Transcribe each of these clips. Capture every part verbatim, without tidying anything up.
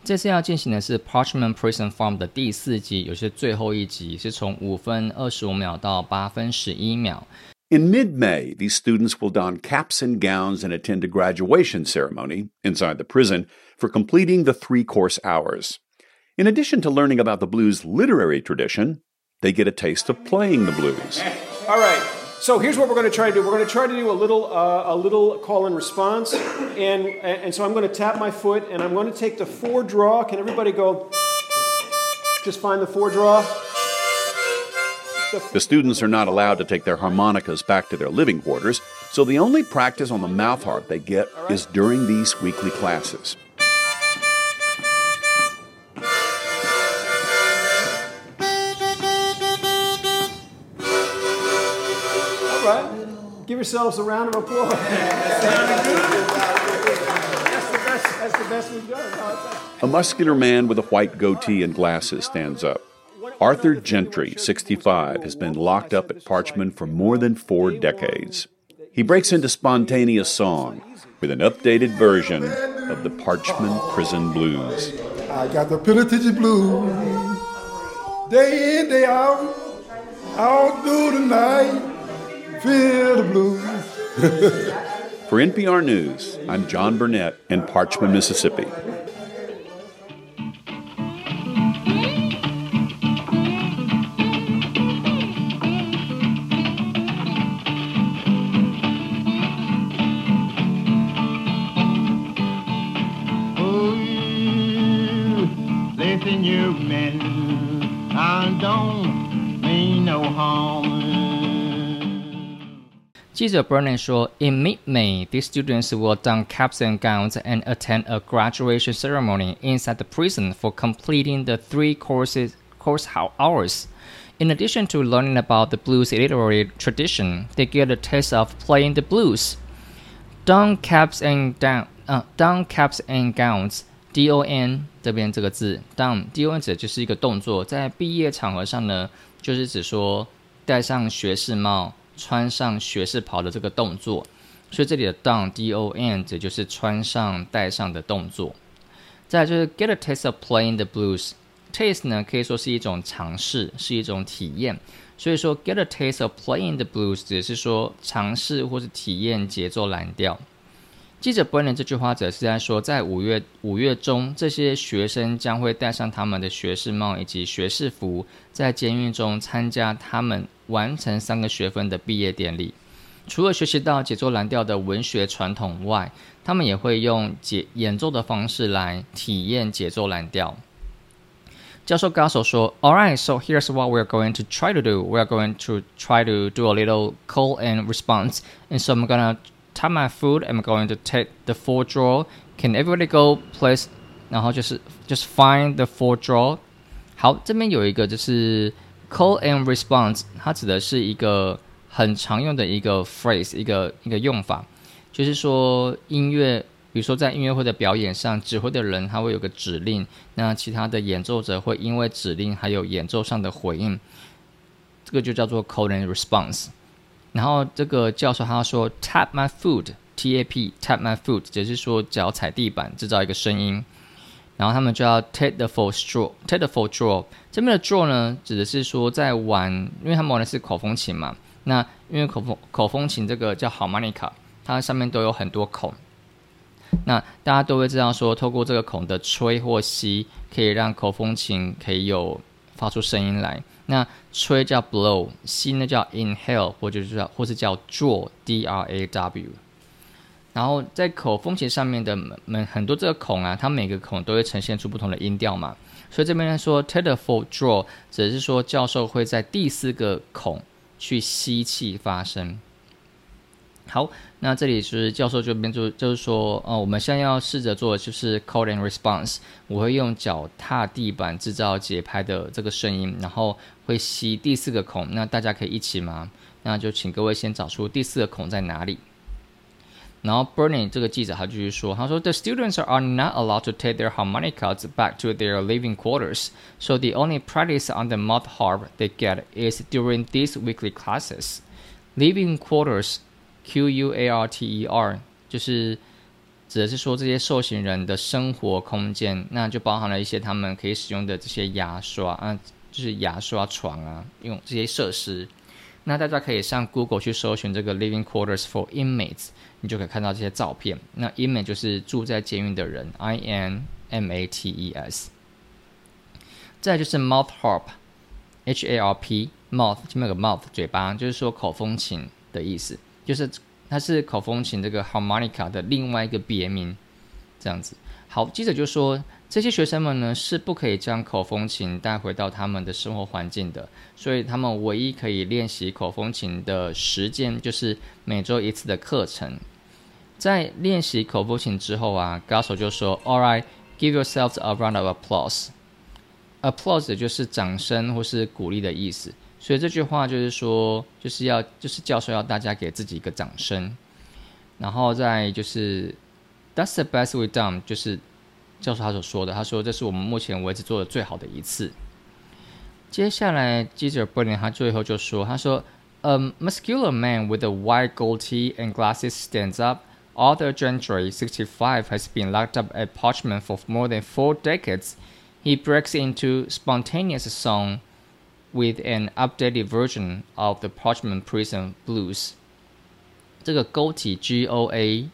这次要进行的是 Parchman Prison Farm 的第四集，也是最后一集，是从五分二十五秒到八分十一秒。 In mid-May, these students will don caps and gowns and attend a graduation ceremony inside the prison for completing the three-course hours. In addition to learning about the blues' literary tradition, they get a taste of playing the blues. All right. So here's what we're going to try to do. We're going to try to do a little, uh, a little call and response, and and so I'm going to tap my foot, and I'm going to take the four draw. Can everybody go? Just find the four draw. The, the students are not allowed to take their harmonicas back to their living quarters, so the only practice on the mouth harp they get right. is during these weekly classes. Give yourselves a round of applause. That's the best, that's the best we've done. A muscular man with a white goatee and glasses stands up. Arthur Gentry, sixty-five, has been locked up at Parchman for more than four decades. He breaks into spontaneous song with an updated version of the Parchman Prison Blues. I got the Penitentiary Blues, day in, day out, all through the night. Feel the blues. For N P R News, I'm John Burnett in Parchman, Mississippi. Oh, listen, you men, I don't mean no harm. 记者 Burnett 说 In mid-May, these students will don caps and gowns and attend a graduation ceremony inside the prison for completing the three courses, course hours. In addition to learning about the blues literary tradition, they get a taste of playing the blues. Don caps and, down, uh, don caps and gowns, D O N 这边这个字 don, D O N 指的就是一个动作，在毕业场合上呢，就是指说戴上学士帽穿上学士袍的这个动作，所以这里的 don D O N 指就是穿上戴上的动作。再来就是 get a taste of playing the blues， taste 呢可以说是一种尝试，是一种体验，所以说 get a taste of playing the blues 只是说尝试或是体验节奏蓝调。记者 Burnett 这句话则是在说，在五月五月中，这些学生将会戴上他们的学士帽以及学士服，在监狱中参加他们完成三个学分的毕业典礼。除了学习到节奏蓝调的文学传统外，他们也会用演奏的方式来体验节奏蓝调。教授高手说 Alright, so here's what we're going to try to do. We're going to try to do a little call and response. And so I'm gonna tap my foot. I'm going to take the four draw. Can everybody go place? 然后就是就是 find the four draw. 好，这边有一个就是 call and response， 它指的是一个很常用的一个 phrase， 一个一个用法，就是说音乐，比如说在音乐会的表演上，指挥的人他会有个指令，那其他的演奏者会因为指令还有演奏上的回应，这个就叫做 call and response。然后这个教授他说 tap my foot T A P tap my foot 只是说脚踩地板制造一个声音，然后他们就要 take the full draw take the full draw 这边的 draw 呢指的是说在玩，因为他们玩的是口风琴嘛，那因为口风口风琴这个叫 harmonica， 它上面都有很多孔，那大家都会知道说透过这个孔的吹或吸可以让口风琴可以有发出声音来，那吹叫 blow， 吸呢叫 inhale 或者叫或是叫 draw D R A W。 然后在口风琴上面的很多这个孔啊，它每个孔都会呈现出不同的音调嘛，所以这边说 take the full draw 只是说教授会在第四个孔去吸气发声。好，那这里是教授这边就就是说，呃，我们现在要试着做的就是 call and response。我会用脚踏地板制造节拍的这个声音，然后会吸第四个孔。那大家可以一起吗？那就请各位先找出第四个孔在哪里。然后 Burnett 这个记者他继续说，他说 The students are not allowed to take their harmonicas back to their living quarters, so the only practice on the mouth harp they get is during these weekly classes. Living quarters Q U A R T E R 就是指的是说这些受刑人的生活空间，那就包含了一些他们可以使用的这些牙刷啊，就是牙刷床啊，用这些设施。那大家可以上 Google 去搜寻这个 Living Quarters for Inmates， 你就可以看到这些照片。那 inmate 就是住在监狱的人 ，I N M A T E S。再来就是 mouth harp，H A R P，mouth 前面有个 mouth 嘴巴，就是说口风琴的意思，就是它是口风琴这个 harmonica 的另外一个别名，这样子。好，记者就说这些学生们呢是不可以将口风琴带回到他们的生活环境的，所以他们唯一可以练习口风琴的时间就是每周一次的课程。在练习口风琴之后啊，歌手就说 All right, give yourselves a round of applause。applause 就是掌声或是鼓励的意思，所以这句话就是说，就是要就是教授要大家给自己一个掌声，然后再就是 That's the best we've done， 就是教授他所说的，他说这是我们目前为止做的最好的一次。接下来记者 Brennan 他最後就說，他說 A muscular man with a white goatee and glasses stands up. Arthur Gentry, sixty-five, has been locked up at Parchman for more than four decades. He breaks into spontaneous song with an updated version of the Parchman Prison Blues. 这个 goatee G O A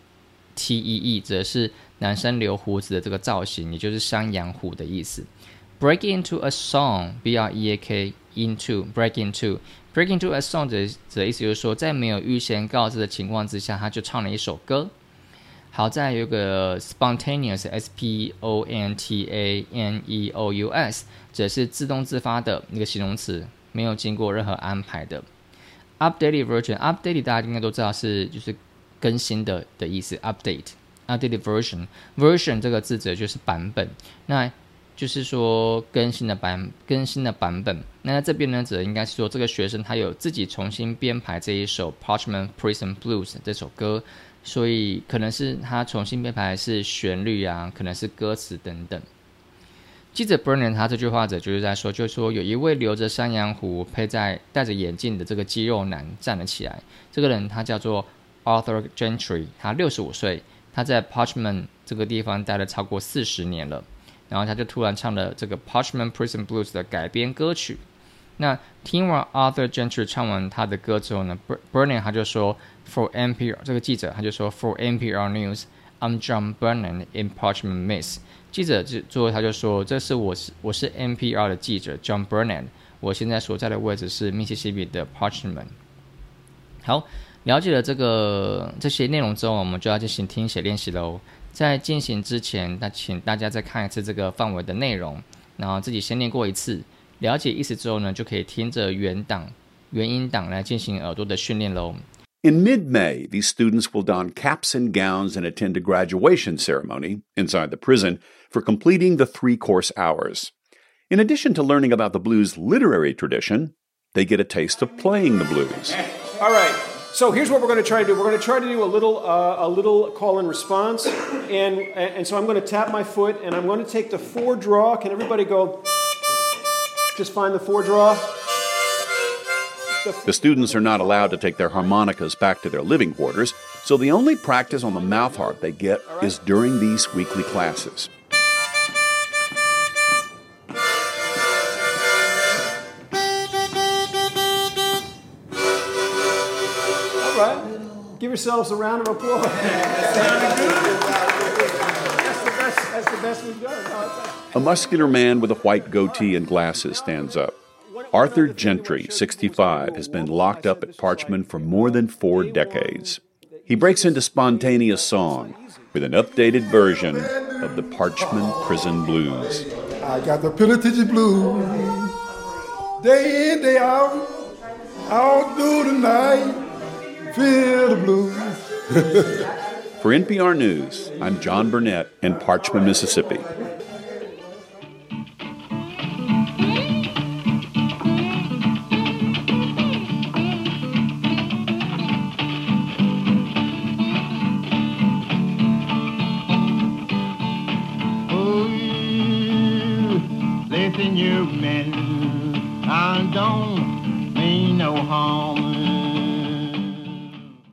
T E E 指的是男生留胡子的这个造型，也就是山羊胡的意思。Break into a song, B R E A K into break into break into a song 的意思就是说，在没有预先告知的情况之下，他就唱了一首歌。好，再有一个 spontaneous S P O N T A N E O U S 指的是自動自發的一個形容詞，沒有經過任何安排的。Updated version updated 大家應該都知道是就是更新的的意思 update updated version version 這個字指的就是版本，那就是說更新的版更新的版本。那這邊呢指的應該是說這個學生他有自己重新編排這一首 Parchman Prison Blues 這首歌，所以可能是他重新編排是旋律啊，可能是歌詞等等。記者 Brennan 他這句話者就是在說，就是說有一位留着山羊胡、佩在戴着眼鏡的這個肌肉男站了起來。這個人他叫做 Arthur Gentry， 他六十五歲，他在 Parchman 這個地方待了超過四十年了。然後他就突然唱了這個 Parchman Prison Blues 的改編歌曲。那聽完 Arthur Gentry 唱完他的歌之後呢 Brennan 他就說 For N P R 這個記者他就說 For N P R News I'm John Brennan in Parchman Miss。 記者最後他就說這是我是我是 N P R 的記者 John Brennan， 我現在所在的位置是密西西比的 Parchman。 好，了解了這個這些內容之後，我們就要進行聽寫練習咯。在進行之前，那請大家再看一次這個範圍的內容，然後自己先念過一次，了解意思之後呢，就可以聽着原檔原音檔來進行耳朵的訓練咯。 In mid-May, these students will don caps and gowns and attend a graduation ceremony inside the prison for completing the three-course hours. In addition to learning about the blues literary tradition, they get a taste of playing the blues. All right. So here's what we're going to try to do. We're going to try to do a little uh, a little call and response, and and so I'm going to tap my foot, and I'm going to take the four draw. Can everybody go? Just find the four draw. The students are not allowed to take their harmonicas back to their living quarters, so the only practice on the mouth harp they get is during these weekly classes. All right. Give yourselves a round of applause. That's the best, that's the best we've done. No, A muscular man with a white goatee and glasses stands up. Arthur Gentry, sixty-five, has been locked up at Parchman for more than four decades. He breaks into spontaneous song with an updated version of the Parchman Prison Blues. I got the penitentiary blues. Day in, day out, all through the night. Feel the blues. For N P R News, I'm John Burnett in Parchman, Mississippi. Listen, you men, I don't mean no harm.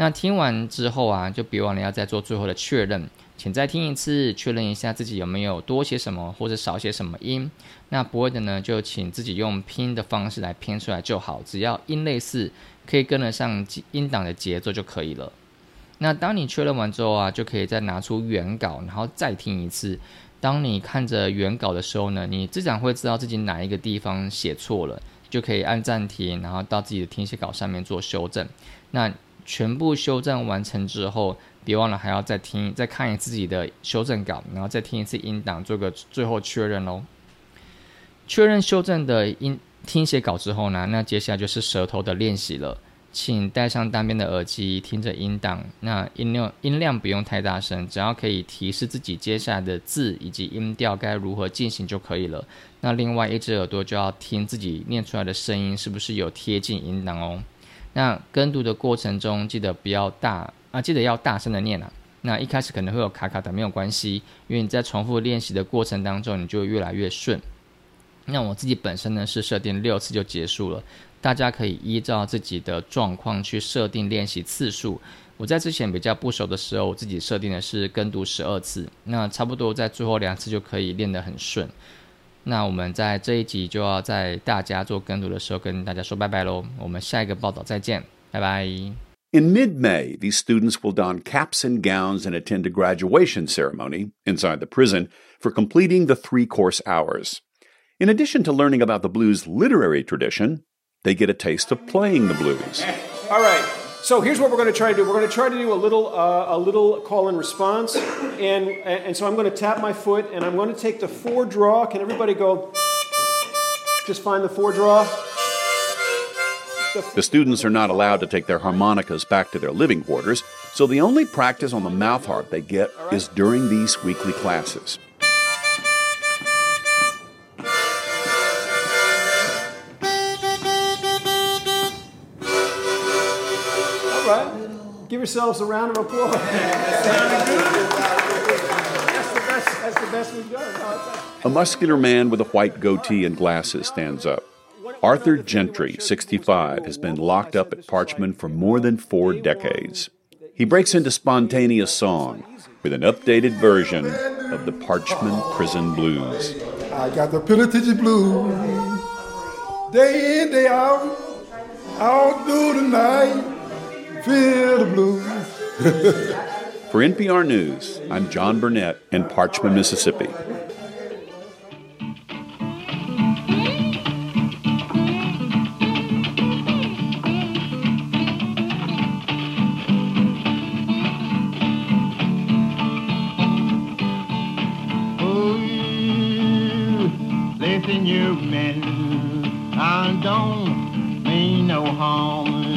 那听完之后啊，就别忘了要再做最后的确认，请再听一次，确认一下自己有没有多写什么或者少写什么音。那不会的呢，就请自己用拼的方式来拼出来就好，只要音类似，可以跟得上音档的节奏就可以了。那当你确认完之后啊，就可以再拿出原稿，然后再听一次。当你看着原稿的时候呢，你自然会知道自己哪一个地方写错了，就可以按暂停，然后到自己的听写稿上面做修正。那全部修正完成之后，别忘了还要再听、再看一次自己的修正稿，然后再听一次音档，做个最后确认咯。确认修正的音听写稿之后呢，那接下来就是舌头的练习了。请戴上单边的耳机，听着音档。那音量音量不用太大声，只要可以提示自己接下来的字以及音调该如何进行就可以了。那另外一只耳朵就要听自己念出来的声音是不是有贴近音档哦。那跟读的过程中，记得不要大啊，记得要大声的念啊。那一开始可能会有卡卡的，没有关系，因为你在重复练习的过程当中，你就会越来越顺。那我自己本身呢是设定六次就结束了，大家可以依照自己的状况去设定练习次数。我在之前比较不熟的时候，我自己设定的是跟读十二次，那差不多在最后两次就可以练得很顺。那我们在这一集就要在大家做跟读的时候跟大家说拜拜咯，我们下一个报道再见，拜拜。 In mid-May, these students will don caps and gowns and attend a graduation ceremony inside the prison for completing the three-course hours. In addition to learning about the blues' literary tradition, they get a taste of playing the blues. All right. So here's what we're going to try to do. We're going to try to do a little, uh, a little call and response, and and so I'm going to tap my foot, and I'm going to take the four draw. Can everybody go? Just find the four draw. The, the students are not allowed to take their harmonicas back to their living quarters, so the only practice on the mouth harp they get right. is during these weekly classes. Give yourselves a round of applause. That's the best, that's the best we've done. A muscular man with a white goatee and glasses stands up. Arthur Gentry, sixty-five, has been locked up at Parchman for more than four decades. He breaks into spontaneous song with an updated version of the Parchman Prison Blues. I got the Penitentiary Blues. Day in, day out, all through the night. Feel the blues. For N P R News, I'm John Burnett in Parchman, Mississippi. Oh, listen, you men, I don't mean no harm.